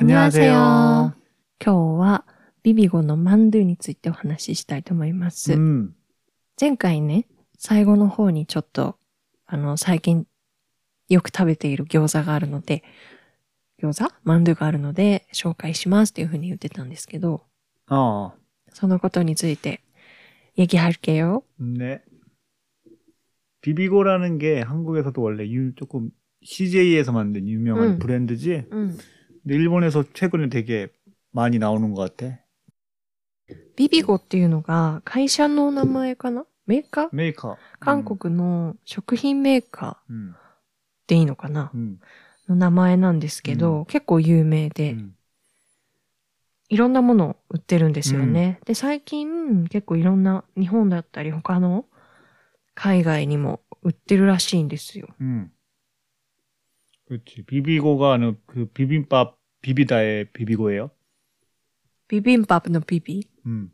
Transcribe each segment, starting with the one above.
안녕하세요. 今日はビビゴのマンドゥについてお話ししたいと思います。前回ね、最後の方にちょっと、最近よく食べている餃子があるので、マンドゥがあるので紹介しますっていうふうに言ってたんですけど、そのことについて얘기할게요. 네. 비비고라는 게 한국에서도 원래 조금 CJ에서 만든 유명한 브랜드지? 근데 일본에서 최근에 되게 많이 나오는 것 같아. ビビゴっていうのが会社の名前かな？メーカー？ メーカー。 韓国の食品メーカーでいいのかな？の名前なんですけど、結構有名で、いろんなものを売ってるんですよね。で、最近結構いろんな日本だったり他の海外にも売ってるらしいんですよ。 그렇지. 비비고가 그 비빔밥 비비다의 비비고예요. 비빔밥のビビ？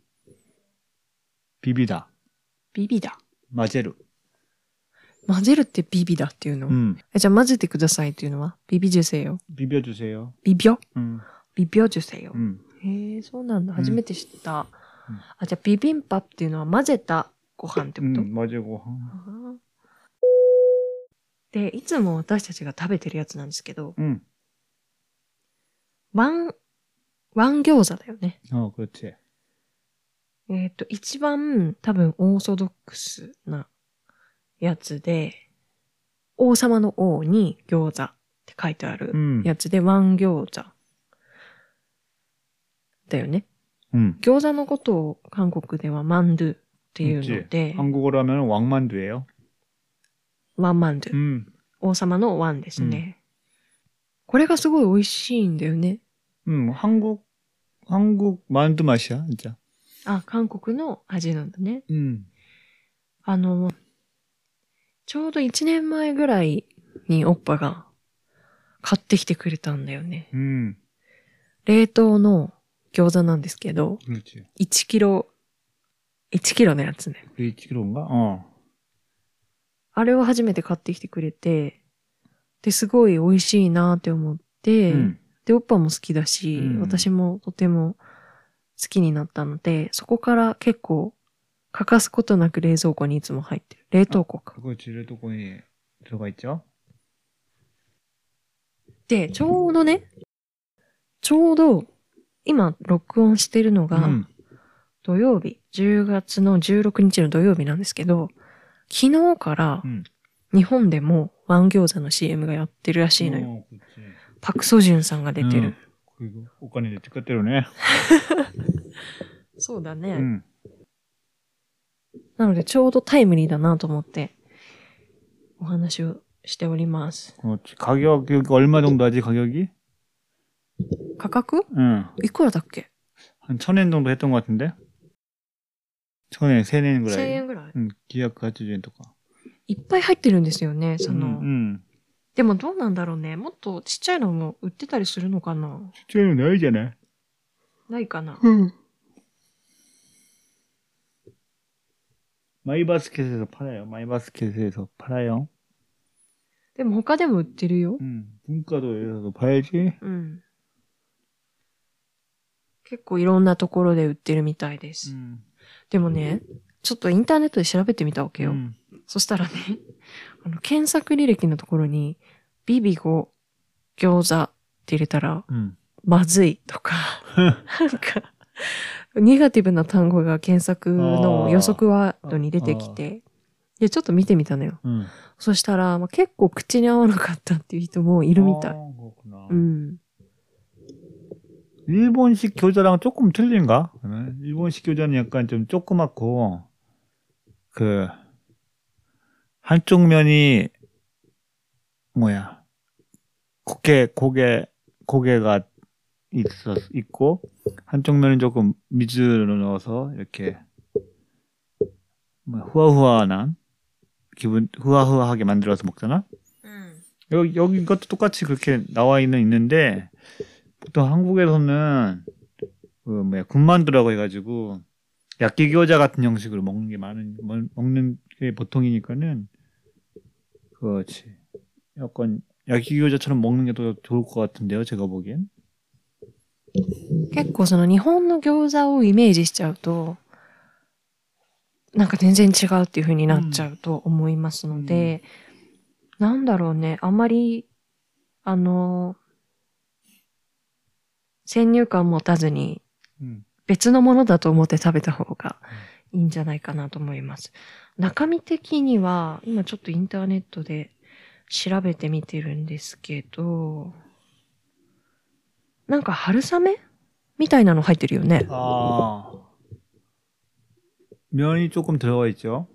비비다. 비비다. 混ぜる。 混ぜるってビビだっていうの？じゃあ混ぜてくださいっていうのは비비주세요. 비벼주세요. 비벼? 비벼주세요. へえ、そうなんだ。初めて知った。じゃあビビンパっていうのは混ぜたご飯ってこと？ 混ぜご飯。 で、いつも私たちが食べてるやつなんですけど、ワン餃子だよね。 그렇지. 一番多分オーソドックスなやつで、王様の王に餃子って書いてあるやつで、ワン餃子だよね。餃子のことを韓国ではマンドゥっていうので、 한국어로 하면 왕만두예요. ワンマンドゥ。王様のワンですね。これがすごい美味しいんだよね。 한국 만두 맛이야, 진짜. 韓国の味なんだね。ちょうど1年前ぐらいにオッパが買ってきてくれたんだよね。冷凍の餃子なんですけど、1キロのやつね。 1キロが？ あれを初めて買ってきてくれて、で、すごい美味しいなって思って、で、オッパも好きだし、私もとても好きになったので、そこから結構欠かすことなく冷蔵庫にいつも入ってる。冷凍庫か。 그렇지、冷凍庫に들어가 있죠。 で、ちょうど今録音してるのが土曜日、10月の16日の土曜日なんですけど、昨日から日本でもワン餃子の CM がやってるらしいのよ。パクソジュンさんが出てる。 お金で使ってるね。 そうだね。なのでちょうどタイムリーだなと思ってお話をしております。 가격이 얼마 정도 하지, 가격이? 価格？いくらだっけ？ 한 1000엔 정도 했던 것 같은데? 1000엔, 1000엔ぐらい。 1000円ぐらい。 980円とか。 いっぱい入ってるんですよね、でもどうなんだろうね。もっとちっちゃいのも売ってたりするのかな？ ちっちゃいのないじゃない？ ないかな。 마이바스켓에서 팔아요. 마이바스켓에서 팔아요. でも他でも売ってるよ。 文化도에서도 봐야지. 結構いろんなところで売ってるみたいです。でもね、ちょっとインターネットで調べてみたわけよ。そしたらね、検索履歴のところに、ビビゴ餃子って入れたら、まずいとか、なんか、ネガティブな単語が検索の予測ワードに出てきて、で、ちょっと見てみたのよ。そしたら、結構口に合わなかったっていう人もいるみたい。 일본식 교자랑 조금 틀린가? 일본식 교자는 약간 좀 조그맣고, 한쪽 면이, 고개가 있고, 한쪽 면은 조금 미즈를 넣어서, 이렇게, 후하후하하게 만들어서 먹잖아? 여기 이것도 똑같이 그렇게 나와 있는데, 보통 한국에서는 군만두라고 해가지고 야끼기오자 같은 형식으로 먹는 게 보통이니까는 그렇지. 약간 야끼기오자처럼 먹는 게 더 좋을 것 같은데요, 제가 보기엔. 結構その日本の餃子をイメージしちゃうと、なんか全然違うっていう風になっちゃうと思いますので、なんだろうね、あんまり、先入観持たずに、別のものだと思って食べた方がいいんじゃないかなと思います。中身的には、今ちょっとインターネットで調べてみてるんですけど、なんか春雨みたいなの入ってるよね。 ああ。면이 조금 들어가 있죠.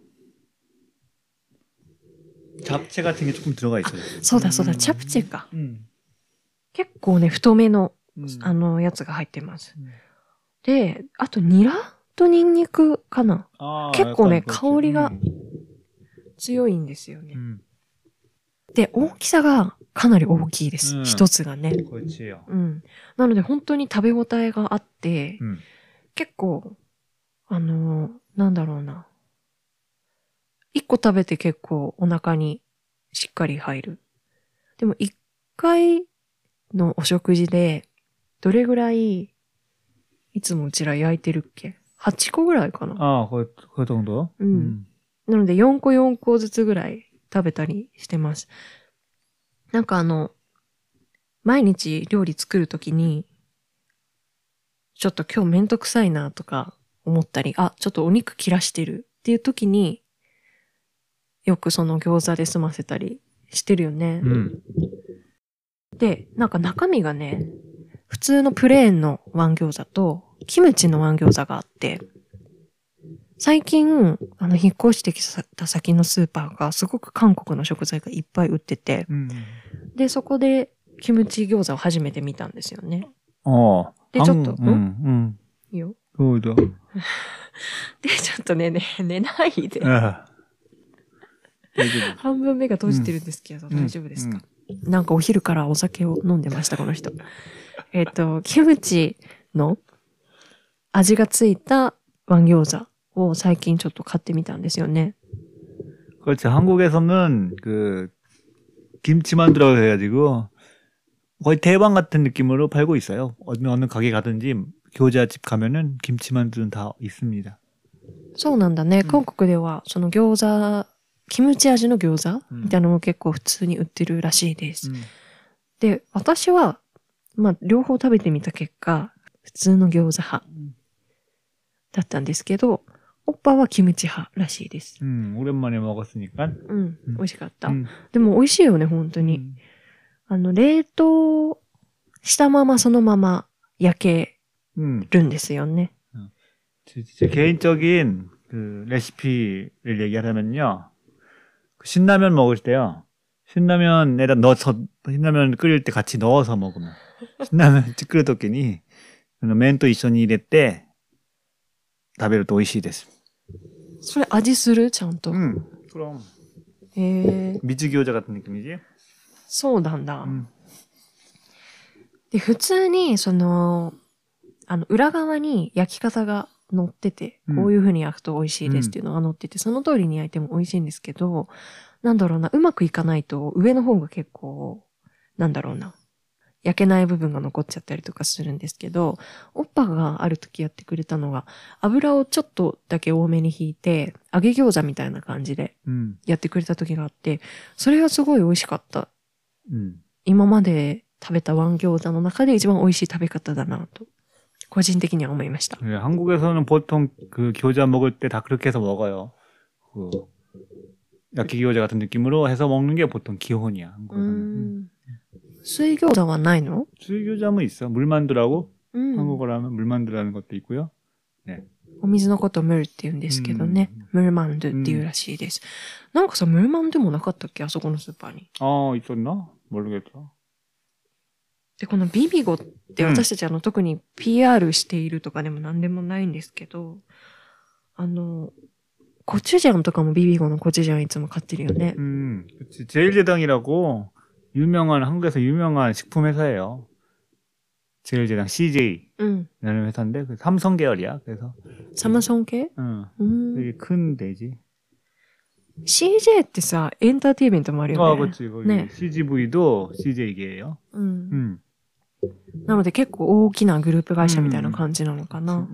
잡채 같은 게 조금 들어가 있어요. そうだそうだ、チャプチェか。結構ね、太めの、やつが入ってます。で、あとニラとニンニクかな。結構ね、香りが強いんですよね。で、大きさがかなり大きいです。一つがね。なので本当に食べ応えがあって、結構、なんだろうな。一個食べて結構お腹にしっかり入る。でも一回のお食事で、どれぐらい、いつもうちら焼いてるっけ ?8 個ぐらいかな。 ああ、これどんどなので4個4個ずつぐらい食べたりしてます。なんか毎日料理作るときに、ちょっと今日めんどくさいなとか思ったり、ちょっとお肉切らしてるっていうときに、よくその餃子で済ませたりしてるよね。で、なんか中身がね、普通のプレーンのワン餃子と、キムチのワン餃子があって、最近、引っ越してきた先のスーパーがすごく韓国の食材がいっぱい売ってて、で、そこでキムチ餃子を初めて見たんですよね。で、ちょっと、いいよ。 そうだ。 で、ちょっとね、寝ないで。半分目が閉じてるんですけど、大丈夫ですか？なんかお昼からお酒を飲んでました、この人。キムチの味がついたワン餃子を最近ちょっと買ってみたんですよね。 그렇지. 한국에서는 김치만두라고 해가지고 거의 대박 같은 느낌으로 팔고 있어요. 어느 가게 가든지餃子집 가면은 김치만두는 다 있습니다. そうなんだね。韓国ではその餃子、キムチ味の餃子みたいなのも結構普通に売ってるらしいです。で、私は両方食べてみた結果、普通の餃子派だったんですけど、オッパはキムチ派らしいです。 오랜만에 먹었으니까. 美味しかった。でも美味しいよね、本当に。冷凍したままそのまま焼けるんですよね。 제 개인적인 레시피를 얘기하자면요. 신라면 먹을 때요. 신라면에다 넣어서, 신라면 끓일 때 같이 넣어서 먹으면. 신라면 끓일時に、麺と一緒に入れて、食べると美味しいです。 それ味するちゃんと。 그럼. 미즈餃子 같은 느낌이지? そうなんだ。で、普通に、裏側に焼き方が載ってて、こういう風に焼くと美味しいですっていうのが載ってて、その通りに焼いても美味しいんですけど、なんだろうな、うまくいかないと上の方が結構、なんだろうな、焼けない部分が残っちゃったりとかするんですけど、オッパがある時やってくれたのが、油をちょっとだけ多めに引いて、揚げ餃子みたいな感じでやってくれた時があって、それがすごい美味しかった。今まで食べたワン餃子の中で一番美味しい食べ方だなと。個人的には思いました。 네, 한국에서는 보통餃子 먹을 때 다 그렇게 해서 먹어요. 야끼餃子 같은 느낌으로 해서 먹는 게 보통 기본이야. 한국에서는. 水餃子はないの? 수이교자는 있어. 물만두라고 한국어로 하면 물만두라는 것도 있고요. 네. お水のことムルって言うんですけどね。ムルマンドっていうらしいです。なんかさ、ムルマンドもなかったっけあそこのスーパーに。 있었나? 모르겠다. で、このビビゴって私たち特に PR しているとかでも何でもないんですけど、コチュジャンとかもビビゴのコチュジャンいつも買ってるよね。 그치. 제일제당이라고 한국에서 유명한 식품 회사예요. 제일제당 CJ라는 회사인데 삼성 계열이야. 그래서 삼성系? 되게 큰 데지. CJ ってさ、エンターテイメントもあるよね。 그렇지. 거기 네. CGV도 CJ계예요. なので結構大きなグループ会社みたいな感じなのかな。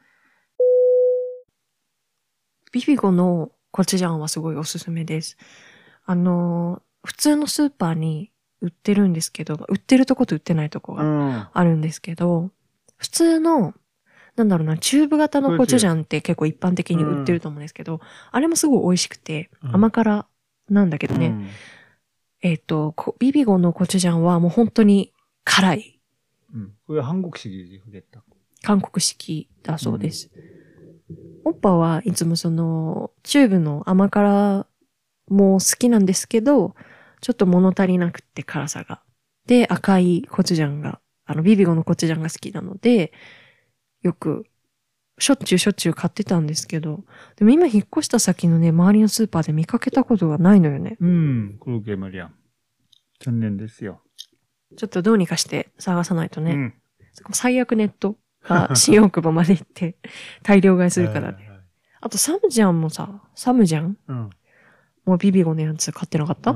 ビビゴのコチュジャンはすごいおすすめです。普通のスーパーに売ってるんですけど、売ってるとこと売ってないとこがあるんですけど、普通の、なんだろうな、チューブ型のコチュジャンって結構一般的に売ってると思うんですけど、あれもすごい美味しくて、甘辛なんだけどね、ビビゴのコチュジャンはもう本当に辛い。 これは韓国式で韓国式だそうです。オッパはいつもその、チューブの甘辛も好きなんですけど、ちょっと物足りなくって辛さが。で、赤いコチュジャンが、ビビゴのコチュジャンが好きなので、よく、しょっちゅう買ってたんですけど、でも今引っ越した先のね、周りのスーパーで見かけたことがないのよね。 그러게 말이야。残念ですよ。 ちょっとどうにかして探さないとね。最悪ネットが新大久保まで行って大量買いするからね。あとサムジャンもさ、サムジャンもうビビゴのやつ買ってなかった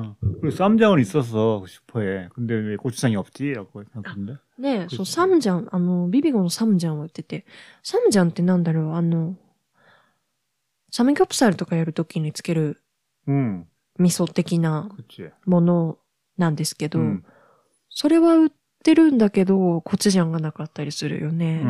그리고쌈장은있었어싶어해근데왜고추장이없지라고생각했는데 ねえ、そう、サムジャン、ビビゴのサムジャンを売ってて、サムジャンってなんだろう、サムギョプサルとかやるときにつける、味噌的なものなんですけど、それは売ってるんだけど、コチュジャンがなかったりするよね。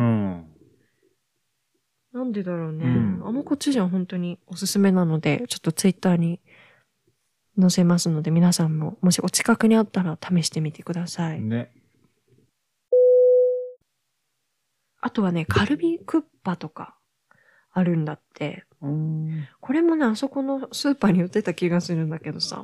なんでだろうね。コチュジャン本当におすすめなので、ちょっとツイッターに載せますので、皆さんも、もしお近くにあったら試してみてください。 ね。 あとはね、カルビクッパとかあるんだって。これもね、あそこのスーパーに売ってた気がするんだけどさ。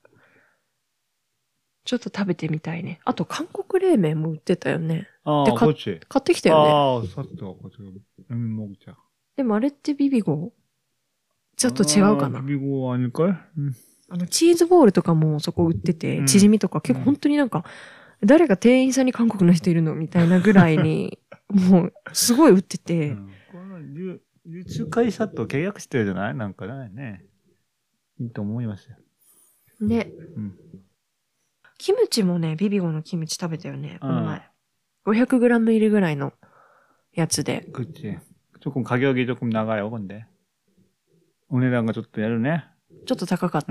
ちょっと食べてみたいね。あと、韓国冷麺も売ってたよね。 で、買ってきたよね。 먹자。 でもあれってビビゴちょっと違うかな。 ビビゴ아닐걸？ チーズボールとかもそこ売ってて、チヂミとか結構本当になんか、誰が店員さんに韓国の人いるのみたいなぐらいに、もう、すごい売ってて。 流通会社と契約してるじゃないなんかね。いいと思いますよ。 ね。キムチもね、ビビゴのキムチ食べたよね、この前。500g入りぐらいのやつで。 그치조금가격이조금나가요근데お値段がちょっとやるね。 ちょっと高かった？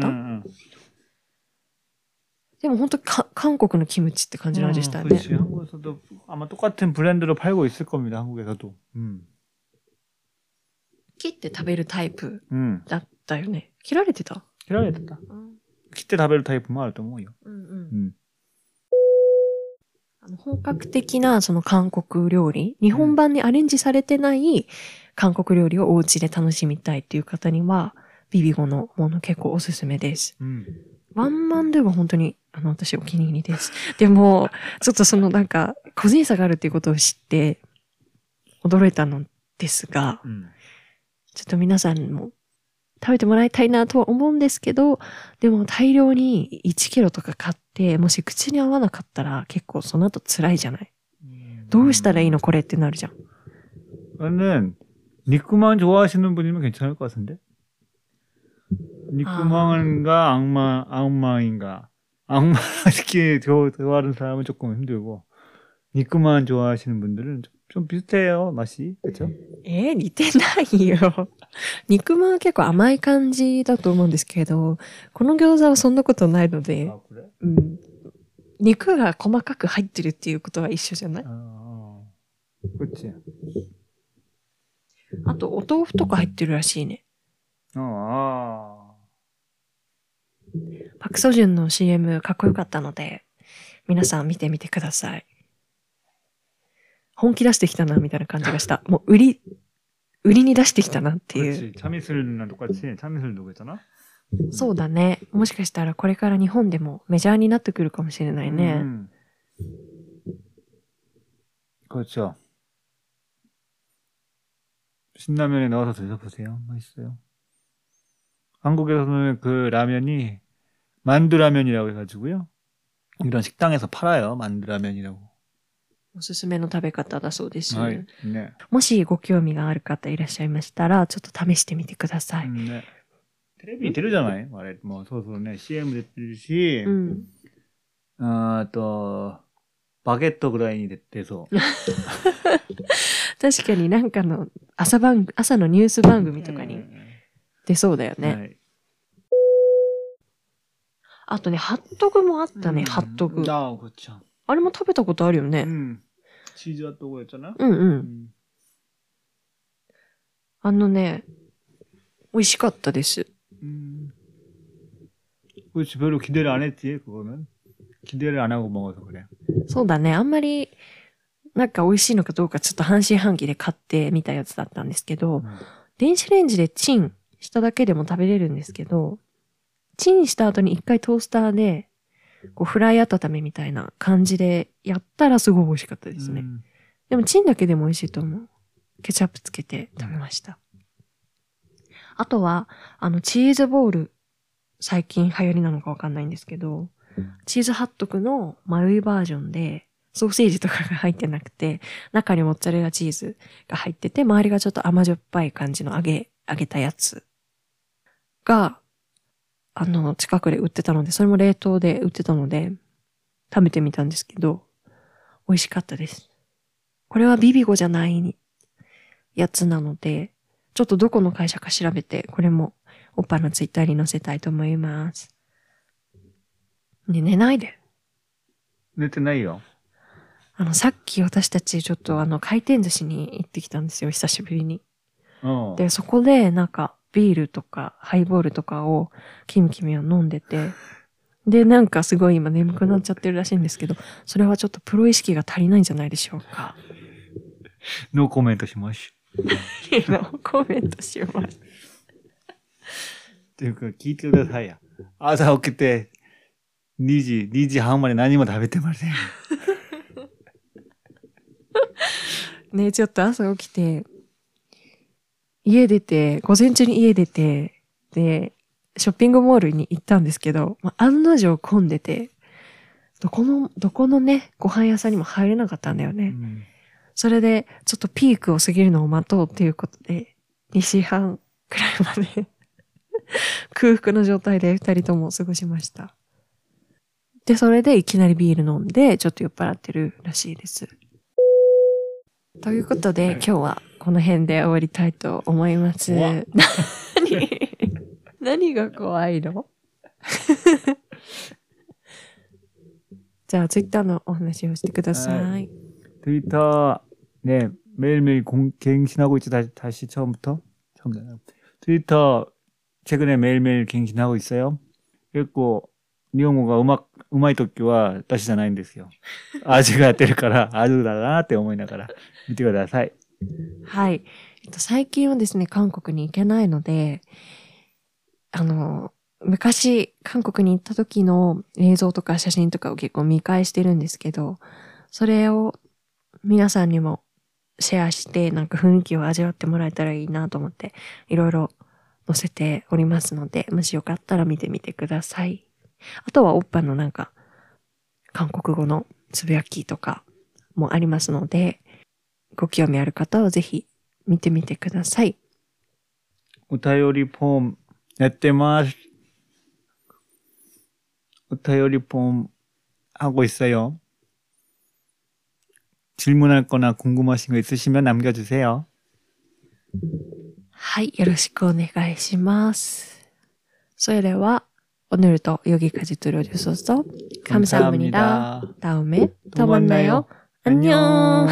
でも本当韓国のキムチって感じの味したよね。 그렇지. 한국에서도 아마 똑같은 브랜드로 팔고 있을 겁니다. 한국에서도. 切って食べるタイプだったよね。切られてた？ 切られてた。切って食べるタイプもあると思うよ。 本格的なその韓国料理、日本版にアレンジされてない韓国料理をお家で楽しみたいっていう方には、ビビゴのもの結構おすすめです。ワンマンでは本当に、私お気に入りです。でも、ちょっとそのなんか、個人差があるっていうことを知って、驚いたのですが、ちょっと皆さんも食べてもらいたいなとは思うんですけど、でも大量に1キロとか買って、もし口に合わなかったら結構その後辛いじゃない？どうしたらいいのこれってなるじゃん。 저는 니꾸만 좋아하시는 분이면 괜찮을 것 같은데? 니꾸망인가 악마인가? 악마 특히 좋아하는 사람은 조금 힘들고 니꾸만 좋아하시는 분들은 좀 비슷해요 맛이 그렇죠? 似てないよ。肉まんは結構甘い感じだと思うんですけど、この餃子はそんなことないので、肉が細かく入ってるっていうことは一緒じゃない？ 그렇지. あと、お豆腐とか入ってるらしいね。パクソジュンの CM かっこよかったので、皆さん見てみてください。本気出してきたな、みたいな感じがした。もう、売りに出してきたなっていう。 참이슬이랑똑같이참이슬 そうだね。もしかしたらこれから日本でもメジャーになってくるかもしれないね。 그렇죠. 신라면에 넣어서 드셔보세요. 맛있어요. 한국에서는 그 라면이 만두라면이라고 해가지고요. 이런 식당에서 팔아요. 만두라면이라고. おすすめの食べ方だそうです。 はい。 ね。もしご興味がある方いらっしゃいましたら、ちょっと試してみてください。 ね。テレビに出るじゃないあれ、もうそうそうね、CM 出てるし、あと、 バゲットぐらいに出そう。 確かになんかの朝のニュース番組とかに出そうだよね。はい、あとね、ハットグもあったね、ハットグ。あれも食べたことあるよね。 チーズハットグやったな。 あのね、美味しかったです。 별로 기대를 안 했지, 그거는. 기대를 안 하고 먹어서 그래. そうだね。あんまり、なんか美味しいのかどうかちょっと半信半疑で買ってみたやつだったんですけど、電子レンジでチンしただけでも食べれるんですけど、チンした後に一回トースターで、こうフライ温めみたいな感じでやったらすごい美味しかったですね。でもチンだけでも美味しいと思う。ケチャップつけて食べました。あとは、チーズボール、最近流行りなのかわかんないんですけど、チーズハットグの丸いバージョンで、ソーセージとかが入ってなくて、中にモッツァレラチーズが入ってて、周りがちょっと甘じょっぱい感じの揚げたやつが、近くで売ってたので、それも冷凍で売ってたので、食べてみたんですけど、美味しかったです。これはビビゴじゃないやつなので、ちょっとどこの会社か調べて、これもおっぱのツイッターに載せたいと思います。ね、寝ないで。 寝てないよ。 さっき私たちちょっと回転寿司に行ってきたんですよ、久しぶりに。で、そこでなんかビールとかハイボールとかをキムキムは飲んでて、で、なんかすごい今眠くなっちゃってるらしいんですけど、それはちょっとプロ意識が足りないんじゃないでしょうか。 ノーコメントします。 ノーコメントします。 っていうか聞いてくださいや。朝起きて2時半まで何も食べてません。 ねえ、ちょっと朝起きて、午前中に家出て、で、ショッピングモールに行ったんですけど、案の定混んでて、どこのね、ご飯屋さんにも入れなかったんだよね。それで、ちょっとピークを過ぎるのを待とうっていうことで、2時半くらいまで空腹の状態で2人とも過ごしました。で、それでいきなりビール飲んで、ちょっと酔っ払ってるらしいです。ということで、今日はこの辺で終わりたいと思います。何が怖いのじゃあ、ツイッターのお話をしてください。 트위터, 네, 매일매일 갱신하고 있죠. 다시 처음부터? 트위터, 최근에 매일매일 갱신하고 있어요. 그리고, 日本語がうまい時は私じゃないんですよ。味がやってるから、味だなって思いながら見てください。 はい。最近はですね、韓国に行けないので、昔、韓国に行った時の映像とか写真とかを結構見返してるんですけど、それを皆さんにもシェアして、なんか雰囲気を味わってもらえたらいいなと思って、いろいろ載せておりますので、もしよかったら見てみてください。あとはおっぱのなんか、韓国語のつぶやきとかもありますので、ご興味ある方はぜひ見てみてください。 お便りフォームやってます。お便りフォーム하고 있어요. 질문할 거나 궁금하신 거 있으시면 남겨주세요. はい、よろしくお願いします。それでは、오늘도 여기까지 들어주셔서 감사합니다. 다음에 또 만나요. 안녕.